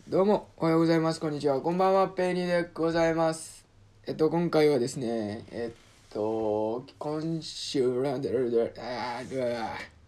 どうも、おはようございます。こんにちは。こんばんは。ペイニーでございます。今回はですね、今週、